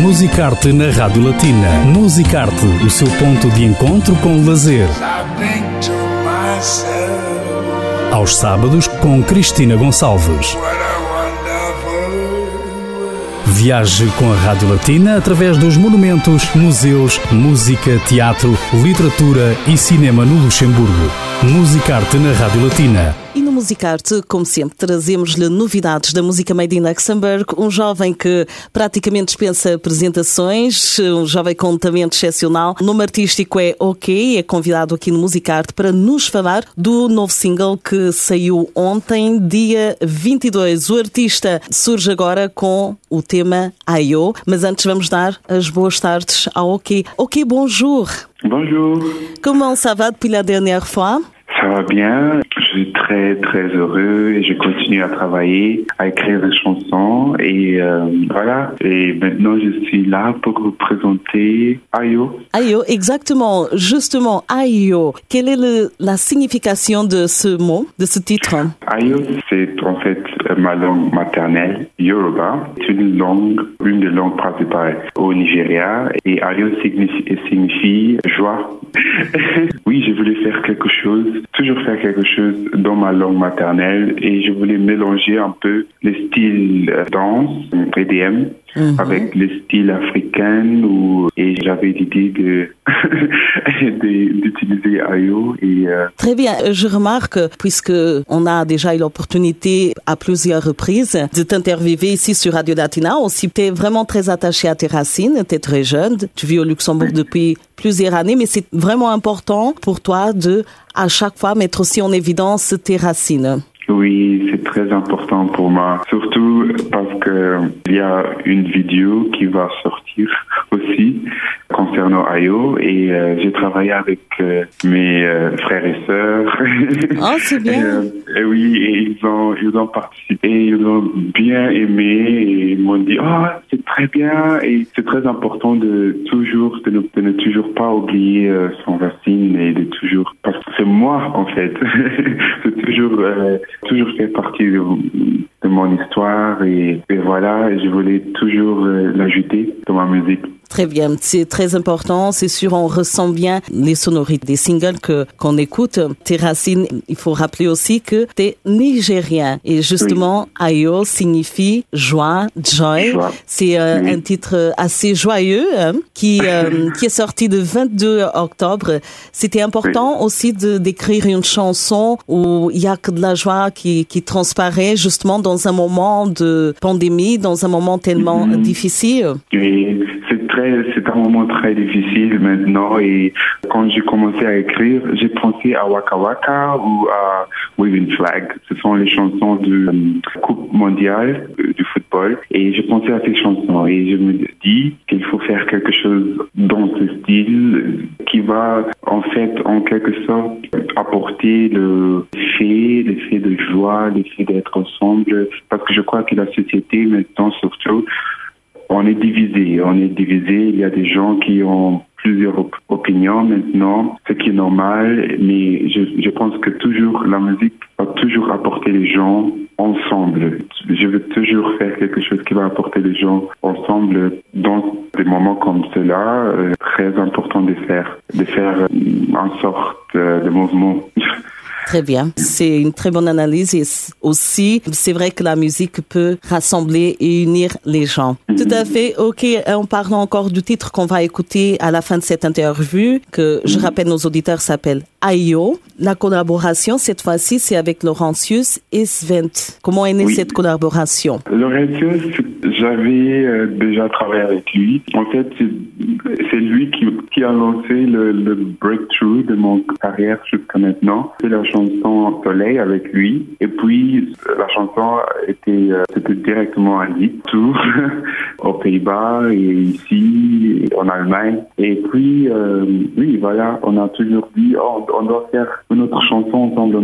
Musicarte na Rádio Latina. Musicarte, o seu ponto de encontro com o lazer. Aos sábados, com Cristina Gonçalves. Viaje com a Rádio Latina através dos monumentos, museus, música, teatro, literatura e cinema no Luxemburgo. Musicarte na Rádio Latina. E no Musicarte, como sempre, trazemos-lhe novidades da música made in Luxemburgo. Um jovem que praticamente dispensa apresentações, um jovem com um talento excepcional. O nome artístico é OK, é convidado aqui no Musicarte para nos falar do novo single que saiu ontem, dia 22. O artista surge agora com o tema Ayo, mas antes vamos dar as boas tardes ao OK. OK, bonjour. Bonjour. Comment ça va depuis la dernière fois? Ça va bien, je suis très très heureux et je continue à travailler, à écrire des chansons et voilà. Et maintenant je suis là pour vous présenter Ayo. Ayo, exactement, justement Ayo. Quelle est la signification de ce mot, de ce titre? Ayo, c'est en fait ma langue maternelle, Yoruba. C'est une des langues principales au Nigeria et Ayo signifie joie. Oui, je voulais faire toujours faire quelque chose dans ma langue maternelle et je voulais mélanger un peu les styles danse, EDM, avec les styles africains et j'avais l'idée d'utiliser Ayo. Très bien, je remarque, puisque on a déjà eu l'opportunité à plusieurs reprises de t'interviewer ici sur Radio Latina, aussi tu es vraiment très attaché à tes racines, tu es très jeune, tu vis au Luxembourg depuis plusieurs années, mais c'est vraiment important pour toi de, à chaque fois, mettre aussi en évidence tes racines. Oui, c'est très important pour moi, surtout parce que il y a une vidéo qui va sortir aussi concernant Ayo et j'ai travaillé avec mes frères et sœurs. Oh, c'est bien. Et oui, et ils ont participé, ils ont bien aimé et ils m'ont dit c'est très bien et c'est très important de ne toujours pas oublier son racine et de toujours, parce que c'est moi en fait, c'est toujours fait partie de mon histoire et voilà, je voulais toujours l'ajouter dans ma musique. Très bien, c'est très important, c'est sûr, on ressent bien les sonorités des singles qu'on écoute. Tes racines, il faut rappeler aussi que t'es nigérien et justement, oui. Ayo signifie joie, joy. C'est un titre assez joyeux qui est sorti le 22 octobre. C'était important aussi d'écrire une chanson où il y a que de la joie qui transparaît justement dans un moment de pandémie, dans un moment tellement difficile. Oui, c'est un moment très difficile maintenant et quand j'ai commencé à écrire, j'ai pensé à Waka Waka ou à Waving Flag. Ce sont les chansons de Coupe mondiale du football et j'ai pensé à ces chansons et je me dis qu'il faut faire quelque chose dans ce style qui va en fait en quelque sorte apporter l'effet de joie, l'effet d'être ensemble parce que je crois que la société maintenant surtout on est divisé. Il y a des gens qui ont plusieurs opinions maintenant, ce qui est normal, mais je pense que toujours la musique va toujours apporter les gens ensemble. Je veux toujours faire quelque chose qui va apporter les gens ensemble dans des moments comme cela. Très important de faire en sorte de mouvement. Très bien. C'est une très bonne analyse et aussi, c'est vrai que la musique peut rassembler et unir les gens. Tout à fait. OK. En parlant encore du titre qu'on va écouter à la fin de cette interview, que je rappelle nos auditeurs s'appelle Ayo. La collaboration, cette fois-ci, c'est avec Laurentius et Svent. Comment est née cette collaboration? Laurentius, j'avais déjà travaillé avec lui. En fait, c'est lui qui a lancé le breakthrough de mon carrière jusqu'à maintenant. C'est la chanson Soleil avec lui. Et puis, la chanson c'était directement à lui, tout, aux Pays-Bas et ici, en Allemagne. Et puis, oui, voilà, on a toujours dit, on doit faire une autre chanson ensemble,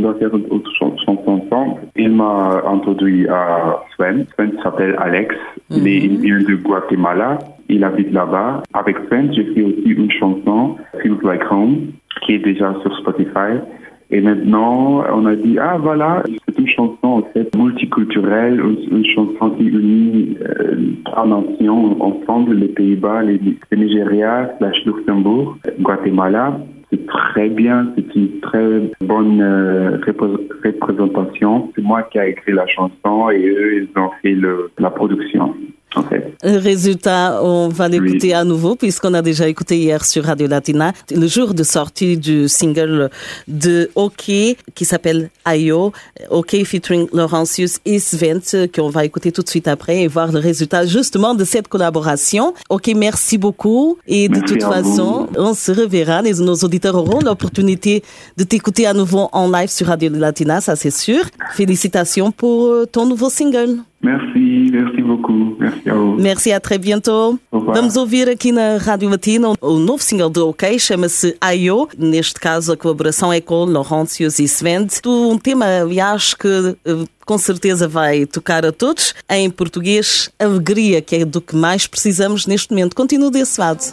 ensemble. Il m'a introduit à Sven. Sven s'appelle Alex. Il est de Guatemala. Il habite là-bas. Avec Sven, j'ai fait aussi une chanson, Feels Like Home, qui est déjà sur Spotify. Et maintenant, on a dit, voilà, c'est une chanson en fait multiculturelle, une chanson qui unit trois nations ensemble, les Pays-Bas, le Nigeria, /Luxembourg, Guatemala. C'est très bien, c'est une très bonne représentation. C'est moi qui ai écrit la chanson et eux, ils ont fait la production. Okay. Résultat, on va l'écouter à nouveau puisqu'on a déjà écouté hier sur Radio Latina le jour de sortie du single de OK qui s'appelle Ayo, OK featuring Laurentius et Svent qu'on va écouter tout de suite après et voir le résultat justement de cette collaboration. OK, merci beaucoup et de toute façon, on se reverra. Nos auditeurs auront l'opportunité de t'écouter à nouveau en live sur Radio Latina, ça c'est sûr. Félicitations pour ton nouveau single. Merci beaucoup. Merci a vous. Merci, a très bientôt. Vamos ouvir aqui na Rádio Latina o novo single do OK, chama-se Ayo. Neste caso, a colaboração é com Laurentius e Svent. Um tema, aliás, que com certeza vai tocar a todos. Em português, alegria, que é do que mais precisamos neste momento. Continua desse lado.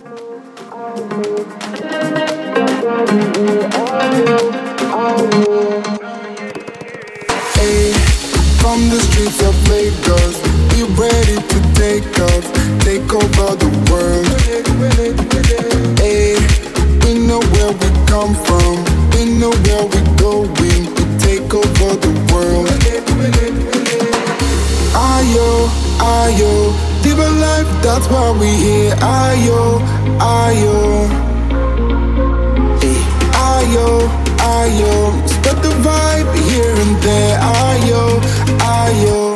From the streets of Lagos, we ready to take off, take over the world. Hey, we know where we come from, we know where we're going, we take over the world. Ayo, ayo, live a life, that's why we here. Ayo, ayo, hey, ayo, ayo, spread the vibe here and there. Ayo, ayo.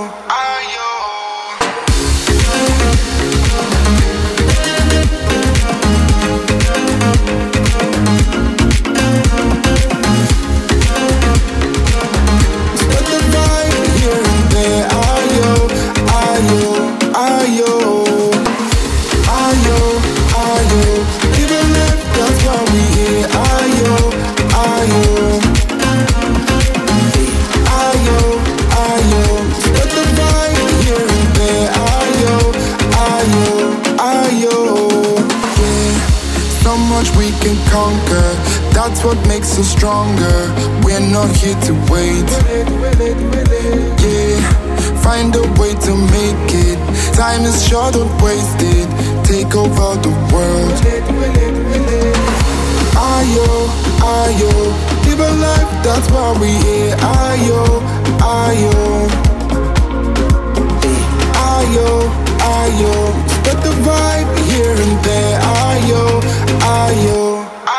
Conquer, that's what makes us stronger. We're not here to wait. Yeah, find a way to make it. Time is short, don't waste it. Take over the world. Ayo, ayo, live a life, that's why we here. Ayo, ayo, ayo, ayo, spread the vibe here and there. Ayo, ayo.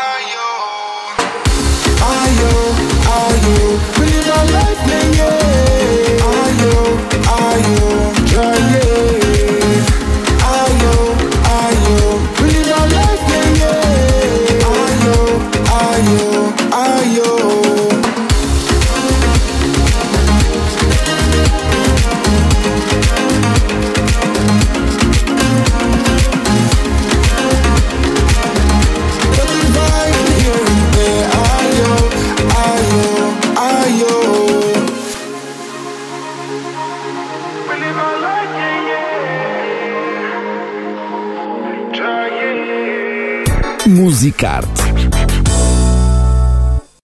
We live our life, yeah, yeah. Ayo, ayo, yeah. Ayo, ayo. We live our life, yeah, yeah. Ayo, ayo, ayo. Musicarte.